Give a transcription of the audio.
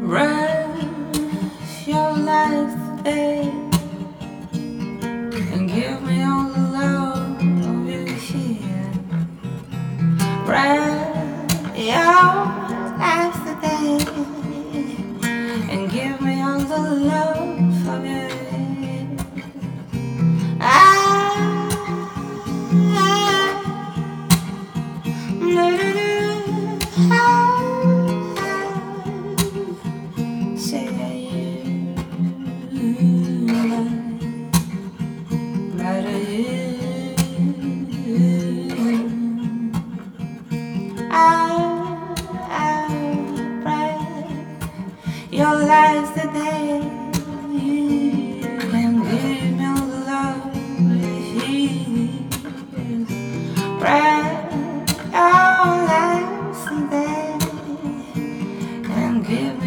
Rush your life today and give me all the love you hear. Rush your life today and give me all the love of you. Your life today and give me all the love he bright your life today and give